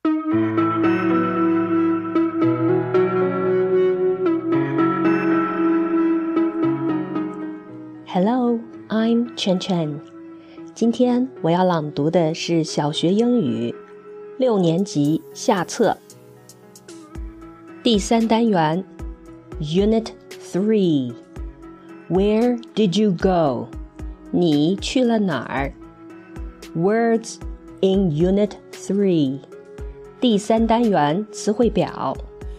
Hello, I'm Chen Chen. 今天我要朗读的是小学英语6年级下册第3单元 Unit 3 Where did you go? 你去了哪儿 Words in Unit 3第3单元词汇表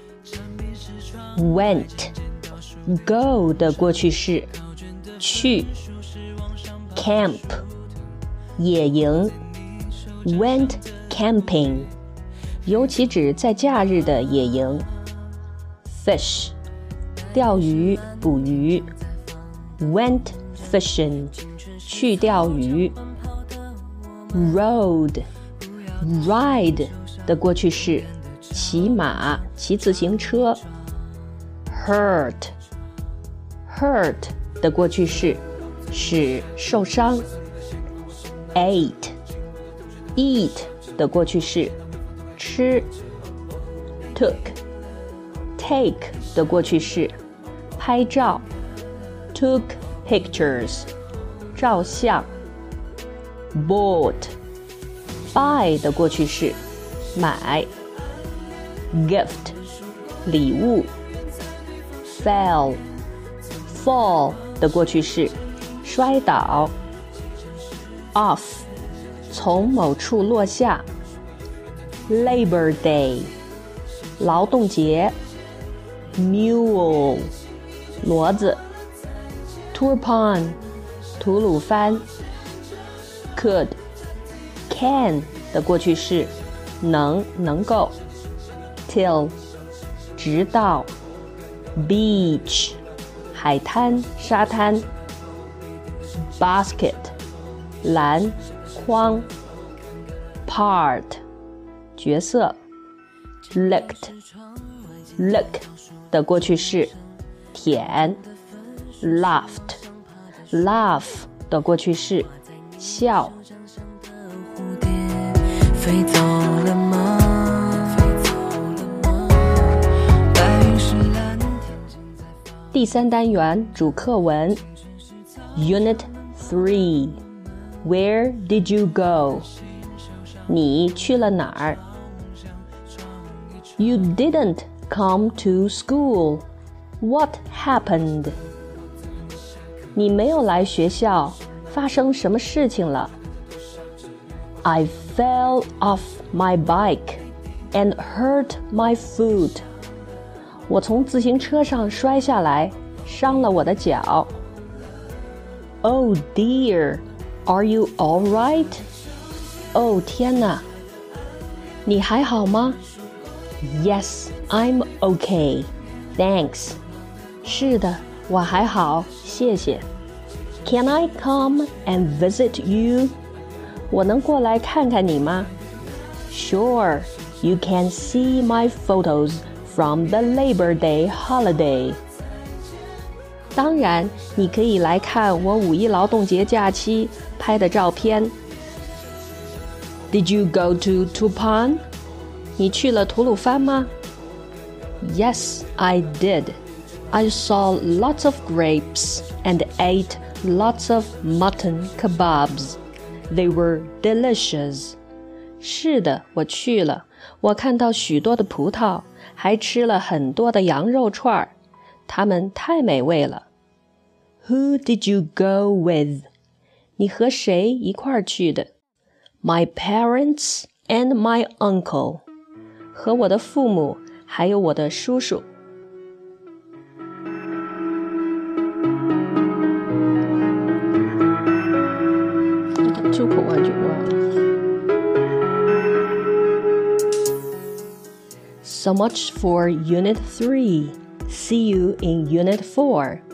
Went Go 的过去式去 Camp 野营 Went camping 尤其指在假日的野营 Fish 钓鱼捕鱼 Went fishing 去钓鱼 Rode Ride 的过去式骑马骑自行车 Hurt的过去式使受伤 Eat 的过去式吃 Take 的过去式拍照 Took pictures 照相 Bought Buy 的过去式买 Gift 礼物 Fall 的过去式摔倒 Off 从某处落下 Labor Day 劳动节 Mule 骡子 Turpan 吐鲁番 Can 的过去式能够 Till 直到 Beach 海滩沙滩 Basket 篮筐 Part 角色 Look 的过去式舔 Laugh 的过去式笑飞走了吗第3单元主课文 Unit 3 Where did you go? 你去了哪儿 You didn't come to school. What happened? 你没有来学校，发生什么事情了 I fell off my bike and hurt my foot. 我从自行车上摔下来，伤了我的脚。Oh dear, are you all right? 哦天哪，你还好吗 ？Yes, I'm okay, thanks. 是的，我还好，谢谢。Can I come and visit you? 我能过来看看你吗 ？Sure, you can see my photos.From the Labor Day holiday. 当然，你可以来看我5一劳动节假期拍的照片。Did you go to Turpan? 你去了吐鲁番吗 ？Yes, I did. I saw lots of grapes and ate lots of mutton kebabs. They were delicious. 是的，我去了。我看到许多的葡萄。还吃了很多的羊肉串儿，它们太美味了。Who did you go with? 你和谁一块儿去的 ？My parents and my uncle. 和我的父母，还有我的叔叔。出口完就忘了。So much for Unit 3. See you in Unit 4.